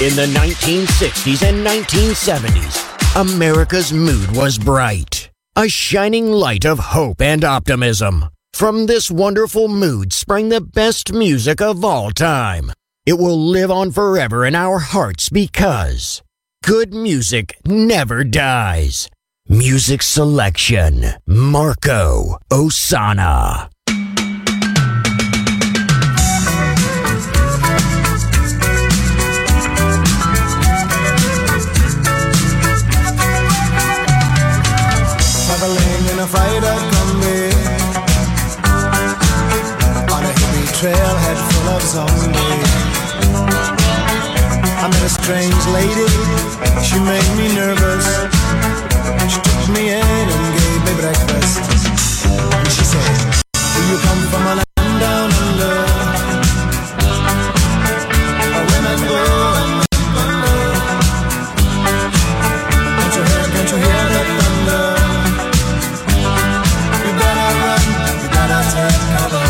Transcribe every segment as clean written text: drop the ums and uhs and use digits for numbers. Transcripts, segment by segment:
In the 1960s and 1970s, America's mood was bright, a shining light of hope and optimism. From this wonderful mood sprang the best music of all time. It will live on forever in our hearts because good music never dies. Music selection, Marco Ossanna. Traveling in a freighter combi on a hippie trailhead full of zombies. I met a strange lady, she made me nervous. She took me in and gave me breakfast. And she said, do you come from a land down under? Where women go and men wonder. Can't you hear the thunder? You better run, you better take cover.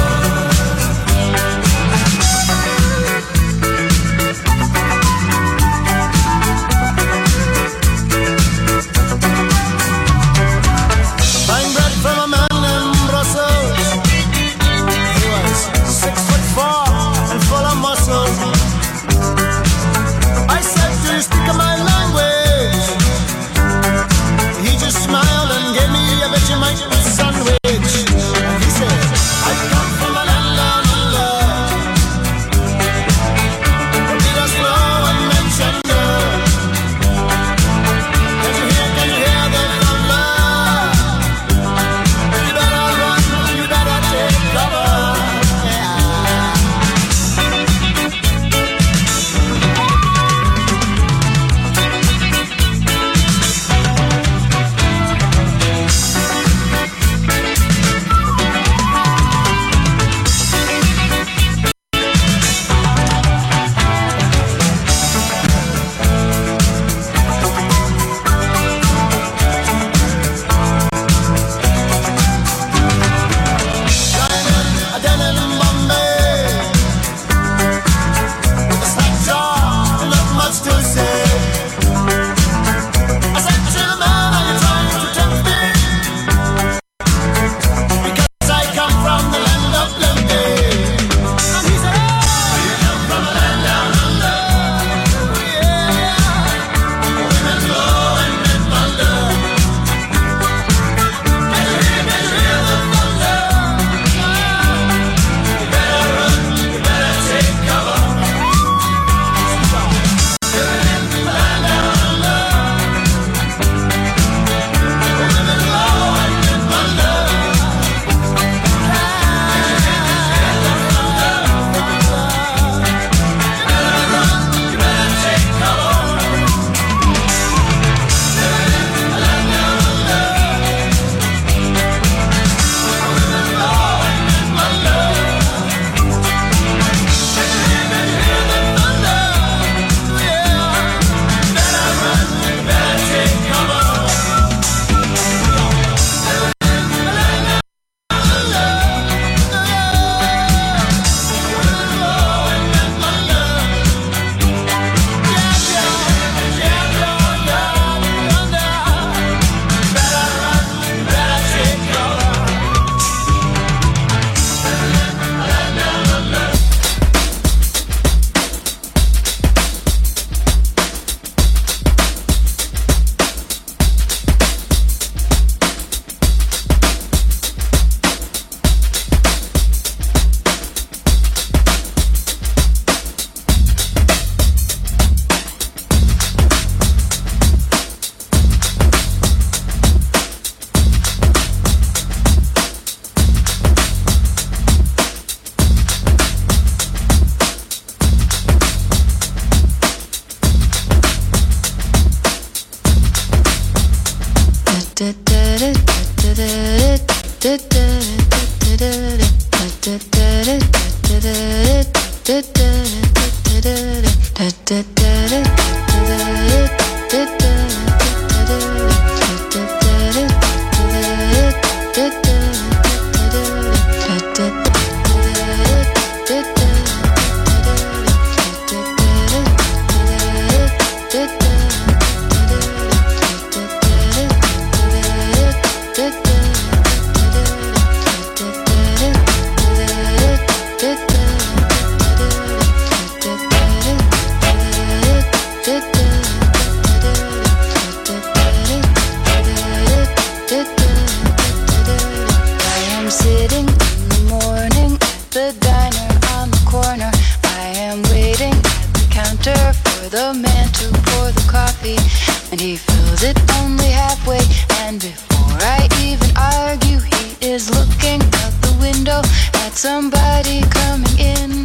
sitting in the morning at the diner on the corner. I am waiting at the counter for the man to pour the coffee, and he fills it only halfway. And before I even argue, he is looking out the window at somebody coming in.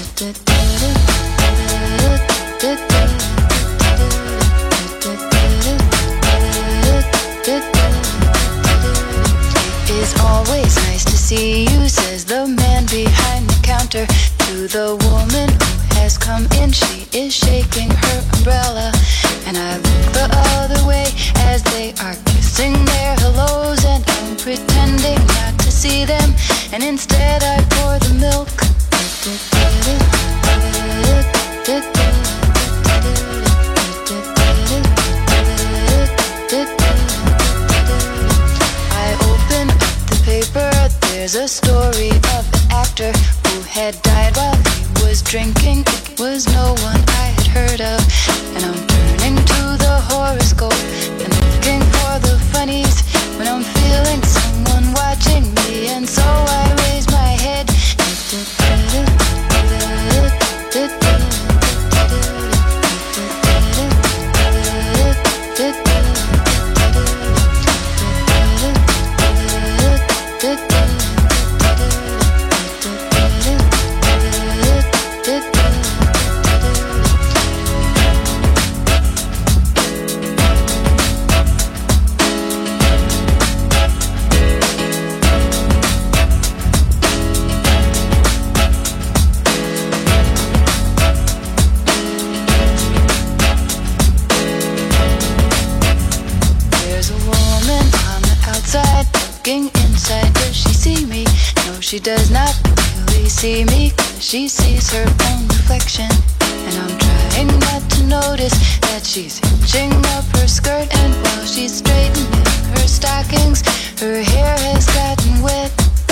It is always nice to see you, says the man behind the counter to the woman who has come in. She is shaking her umbrella, and I look the other way as they are kissing their hellos, and I'm pretending not to see them, and instead I pour the milk. I open up the paper, there's a story of an actor who had died while he was drinking. It was no one I had heard of, and I'm turning to the horoscope and looking for the funnies when I'm feeling someone watching me, and so I raise my head. Inside, does she see me? No, she does not really see me, 'cause she sees her own reflection. And I'm trying not to notice that she's hitching up her skirt, and while she's straightening her stockings, her hair has gotten wet.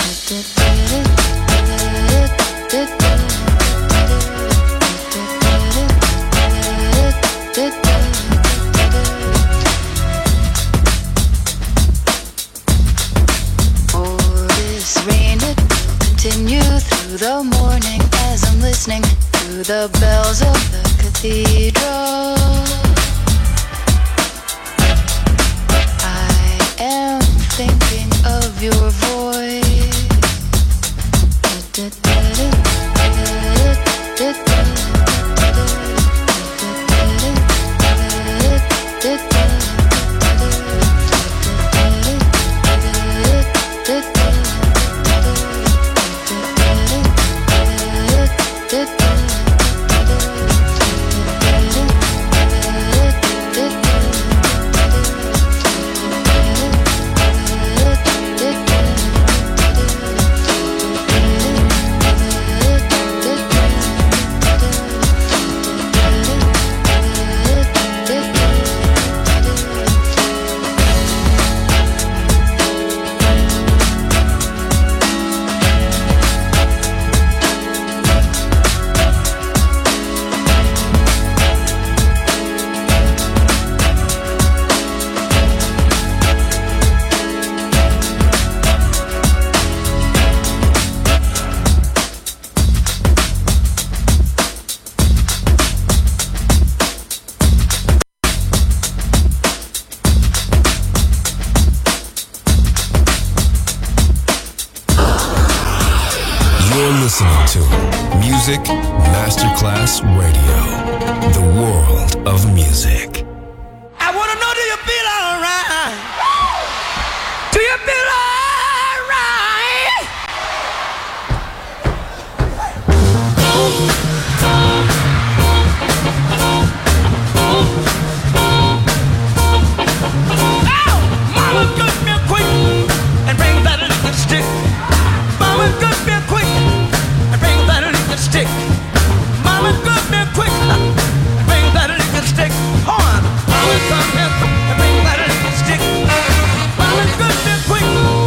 Continue through the morning as I'm listening to the bells of the cathedral. I am thinking of your voice. listening to Music Masterclass Radio, the world of music. I want to know, do you feel all right? Do you feel all right? Oh, mama, good me quick and bring that little stick. Mama, good me quick and bring that little stick. Mama, good me quick and bring that little stick. Hold on. Mama, come here and bring that little stick. Mama, good me quick.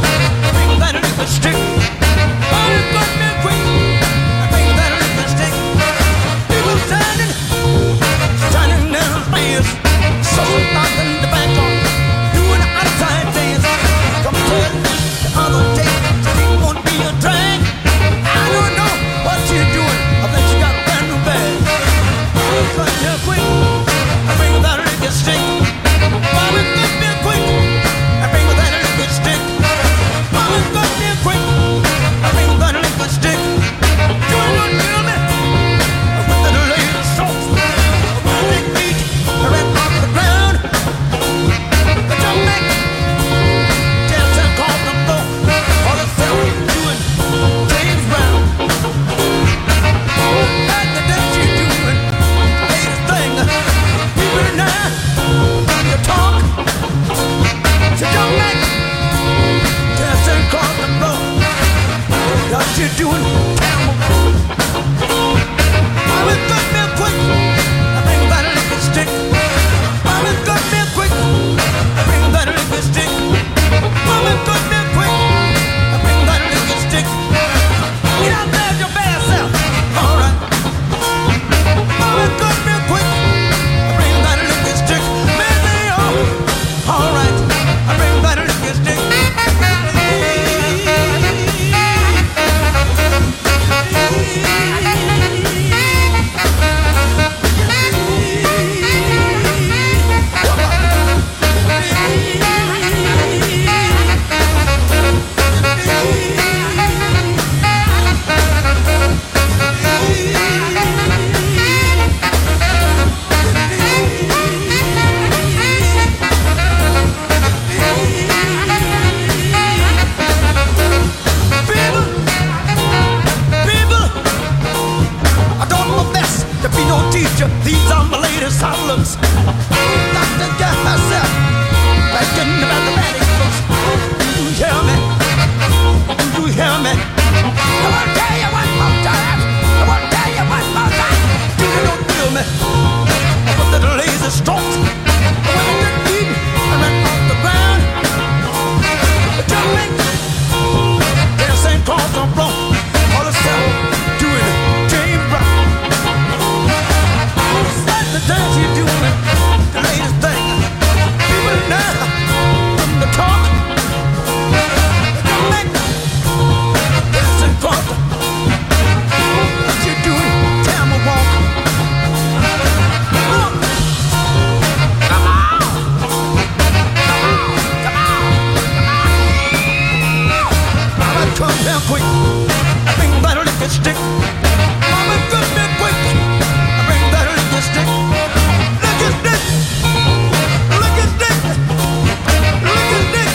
come here quick. Bring that liquor stick. Mama, come here quick. Bring that liquor stick. Liquor stick. Liquor stick. Liquor stick.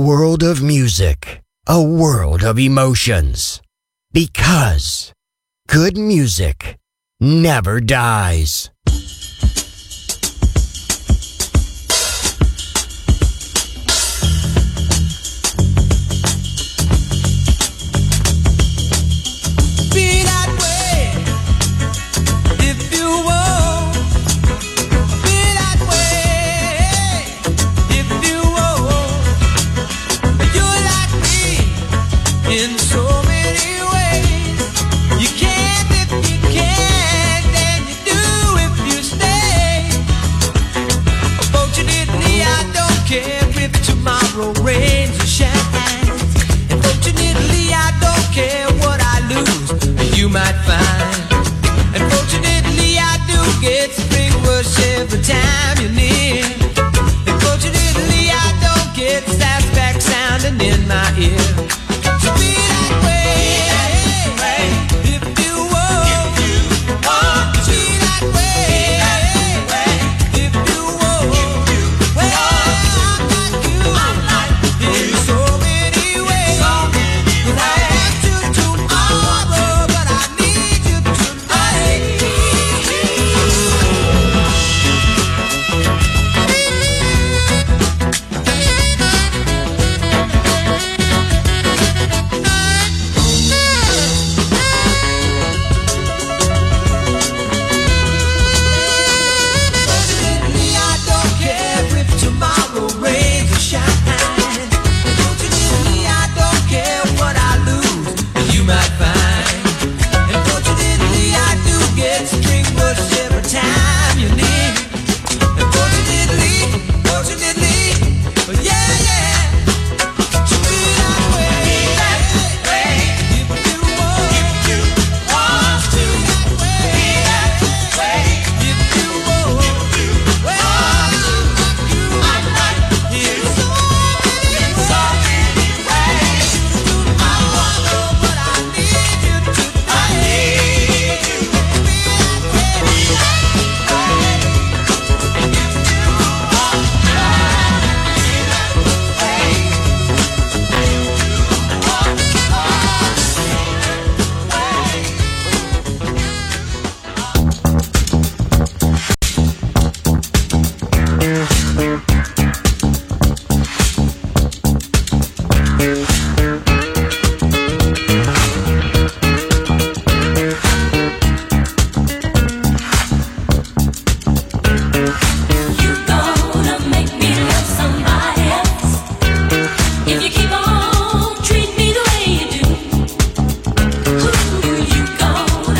world of music, a world of emotions. Because good music never dies. In so many ways, you can't if you can, then you do if you stay. Fortunately, I don't care if tomorrow rains or shines. And fortunately, I don't care what I lose, you might find. And fortunately, I do get spring rush every time you're near. And fortunately, I don't get sassback sounding in my ear.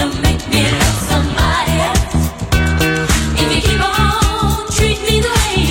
Treat me the way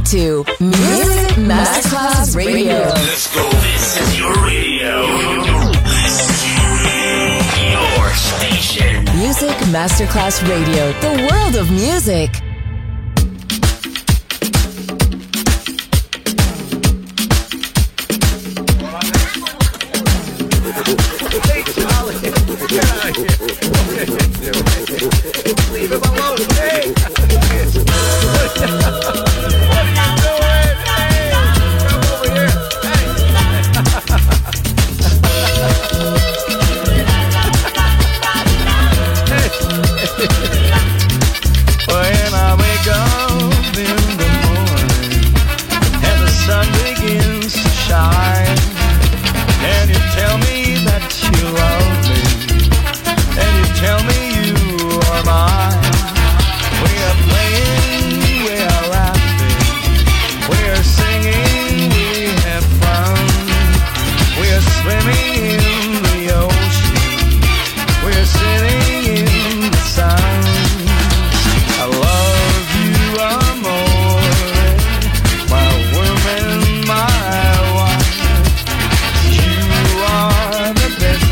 to Music Masterclass Radio. Let's go. This is your radio. Your station. Music Masterclass Radio. The world of music. Leave him alone. Hey! When I wake up in the morning and the sun begins to shine, and you tell me that you love me, and you tell me you are mine. We are playing, we are laughing, we are singing, we have fun. We are swimming in the ocean, we are sitting in the sun. I love you, amore, my woman, my wife. You are the best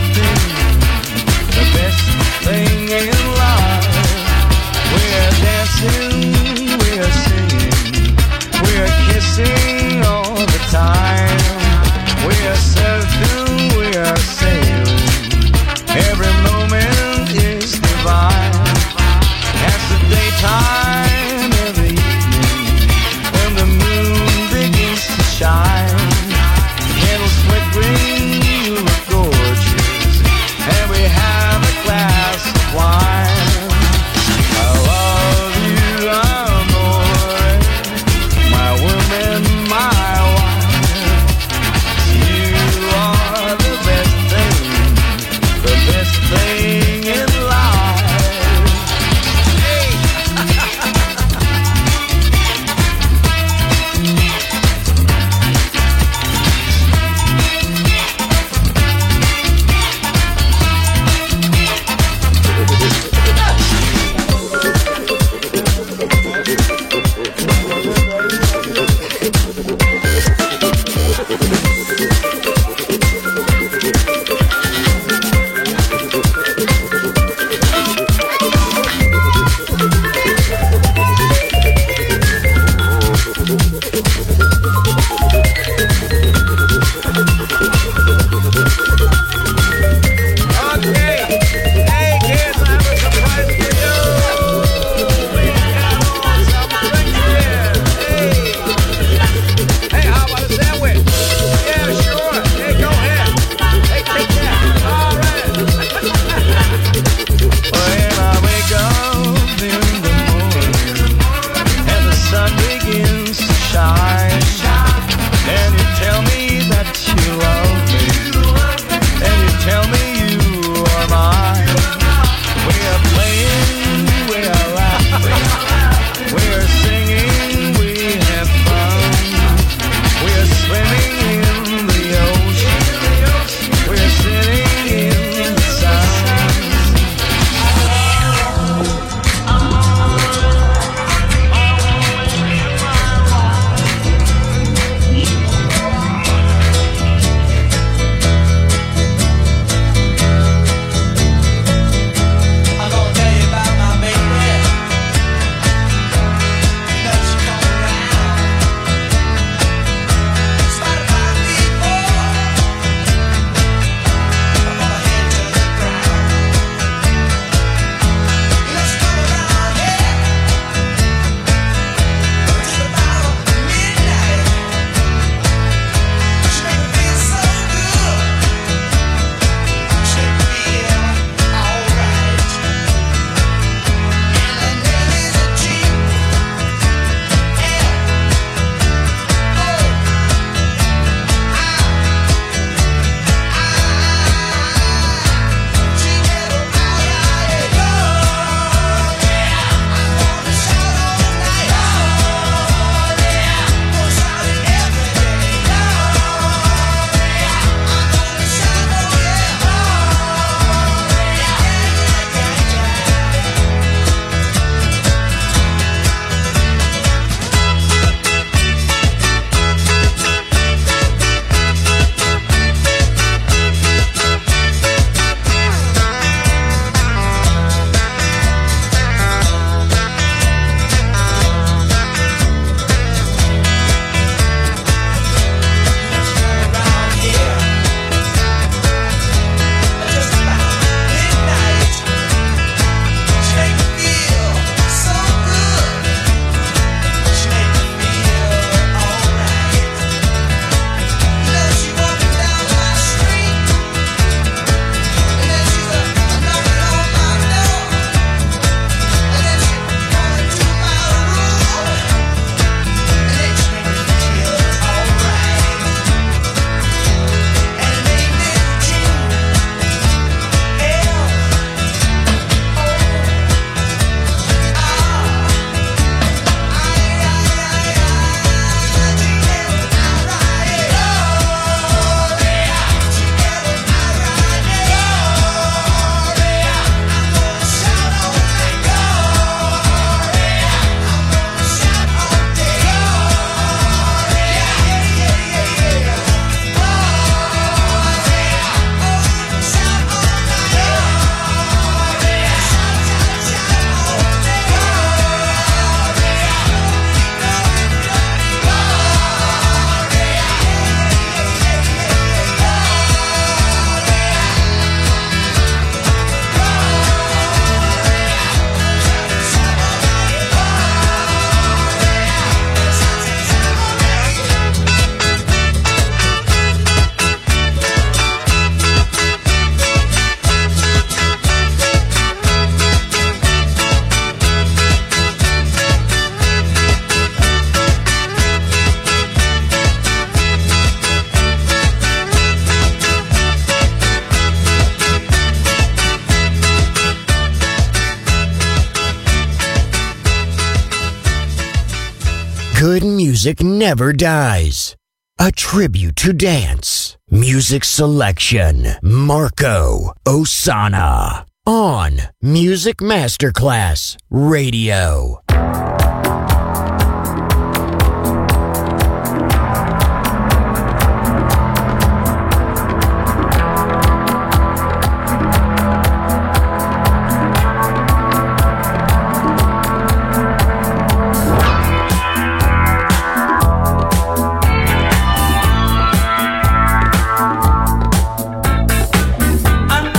thing in life. We are dancing, we are singing, we are kissing all the time. We are surfing, we are sailing, every moment is divine. As the daytime, every evening, when the moon begins to shine, candles flickering, you look gorgeous, and we have a glass of wine. I love you, amore, my woman, my wife. You are the best thing in life. Tell me music never dies. A tribute to dance. Music selection. Marco Ossanna. On Music Masterclass Radio.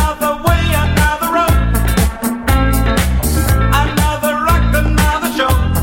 Another rock, another show.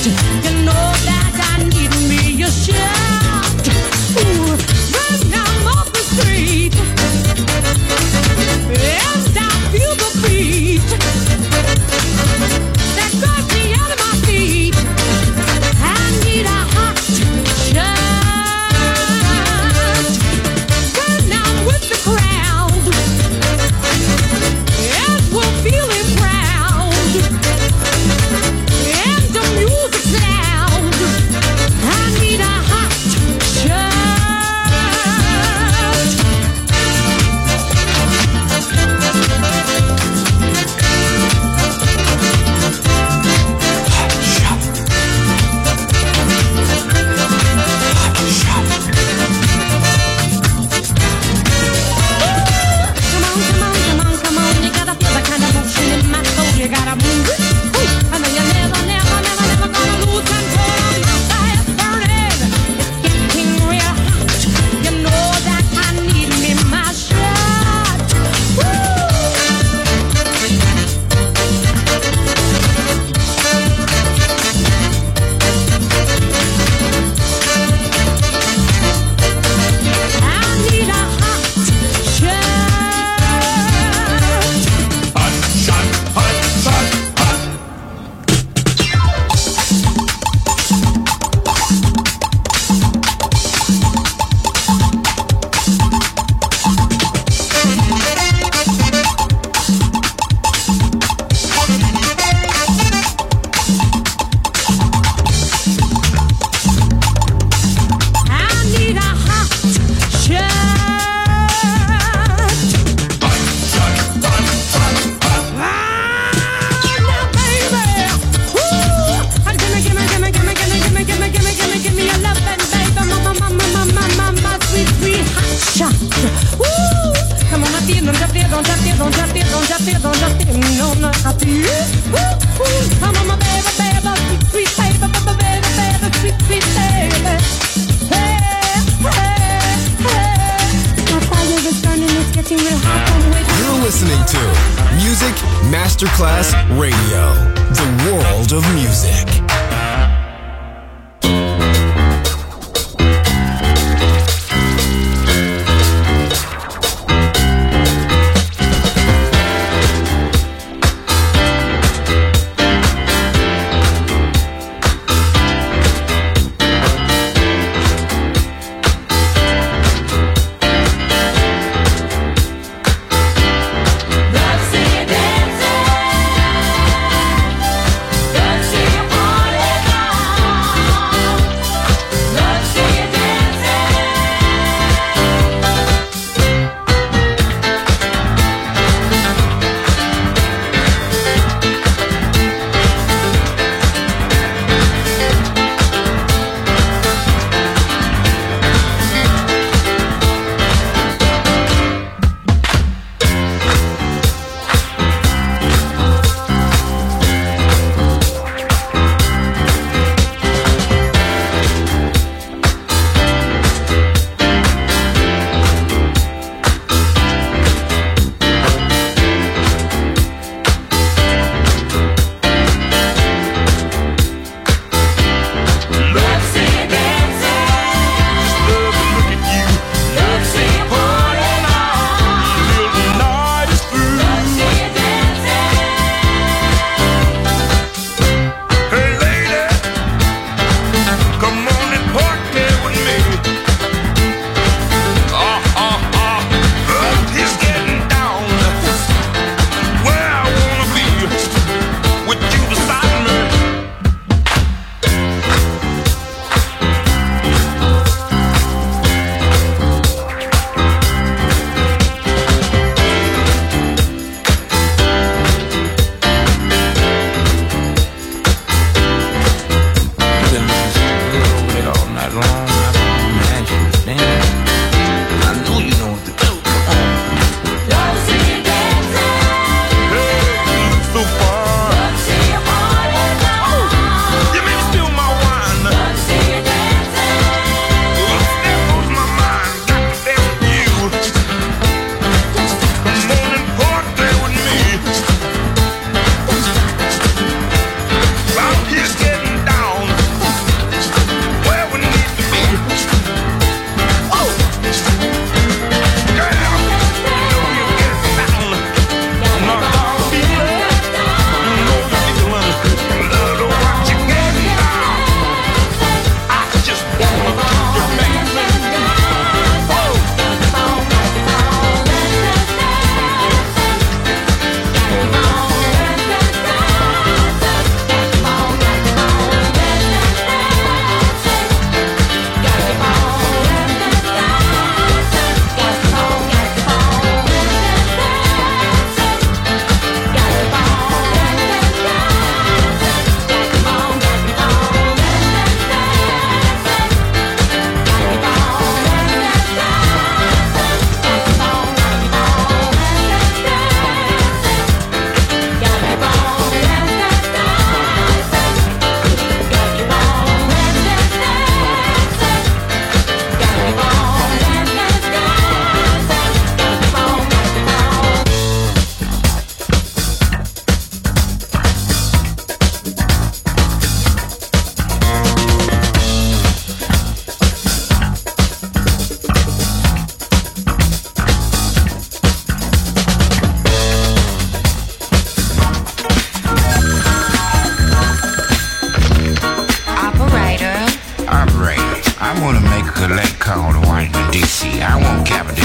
You know that I need me a shot. Ooh, right now I'm off the street, and I feel the beat that got me out of my feet. I need a hot shot. When I'm with the crowd, and we're feeling proud, and the music's loud, I need a hot shot. Come on, you gotta feel the kind of motion in my soul. You gotta move it. I know you're never gonna lose control. My fire's burning, it's getting real hot. You know that I need me my shot. I need a hot shot. I need a hot shot. Now, baby, woo! Give me a lovin', baby, my sweet hot shot. Woo! Come on, I feel, don't you feel, no, I feel. Woo! Come on, my baby, sweet baby, sweet baby. Hey, my fire is burning, it's getting real hot. I'm waiting. You're listening to Music Masterclass Radio, the world of music. Dancing, dancing, dancing.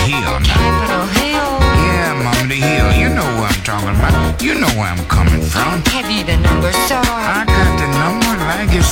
Hill. Capitol Hill. Yeah, Mama, the Hill. You know what I'm talking about. You know where I'm coming from. Have you the number, sir? I got the number, like it's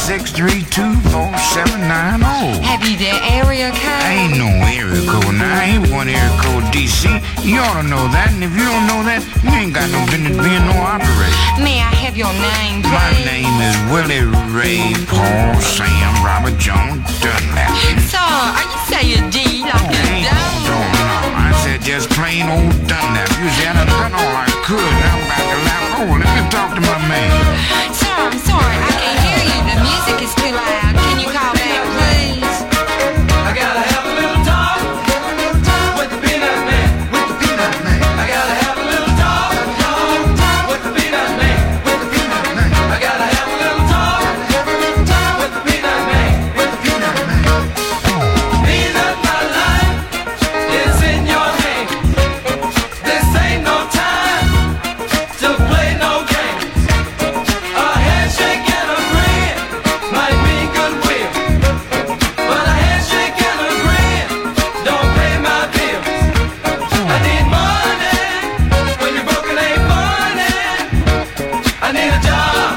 632-4790. Have you the area code? Ain't no area code now. Ain't one area code DC. You ought to know that, and if you don't know that, you ain't got no business being no operator. May I have your name, please? My name is Willie Ray Paul Sam Robert Jones Dunlap. Sir, are you saying D like a No, I said just plain old Dunlap. You see, I done all I could. Now I'm about to lap. Oh, let me talk to my man. Sir, I'm sorry, I can't hear you. The music is too loud. Can you call back, please? I gotta have a little talk with the peanut man. With the peanut man. I gotta have a little talk with the peanut man. With the peanut man. I gotta have a little talk with the peanut man. With the peanut man. Peanut, my life is in your hand. This ain't no time to play no games. A handshake and a grin might mean goodwill, but a handshake and a grin don't pay my bills. I need money when you're broken, ain't money. I need a job.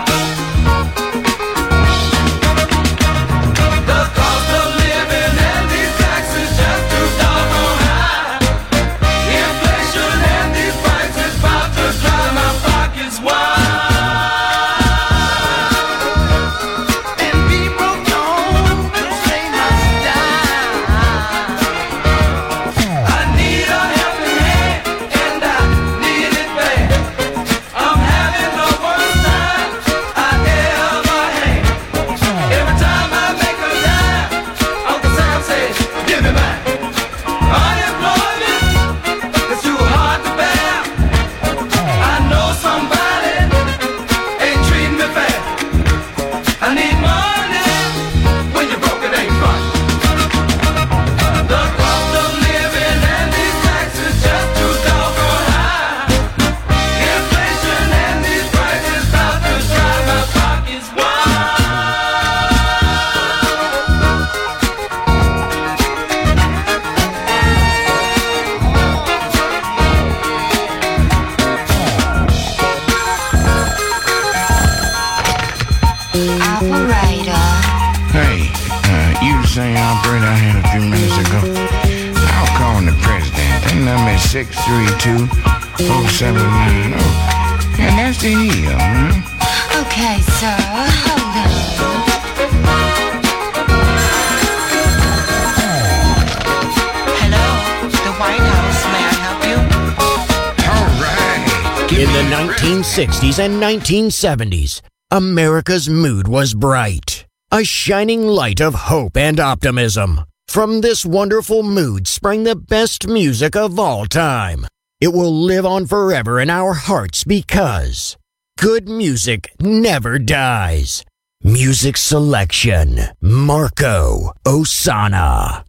The cost of living and these taxes just too doggone high. Inflation and these prices about to drive my pockets wide. And people don't say my style. I need a helping hand, and I need it bad. I'm having the worst time I ever had. Every time I make a dime, Uncle Sam says, give me back. Unemployment is too hard to bear. I know somebody ain't treating me fair. I need money when you're broke, it ain't fun. The cost of living and these taxes just too doggone high. Inflation and these prices about to drive my pockets wide. Operator. Hey, you the same operator I had a few minutes ago. I'll call the president. That number is 632-4790. And that's the Hill, man. Okay, sir, hold on. Hello, the White House. May I help you? All right. In the 1960s and 1970s, America's mood was bright. A shining light of hope and optimism. From this wonderful mood sprang the best music of all time. It will live on forever in our hearts because good music never dies. Music selection, Marco Ossanna.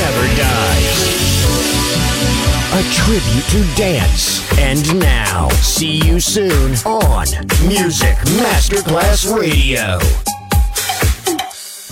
never dies. A tribute to dance. And now, see you soon on Music Masterclass Radio.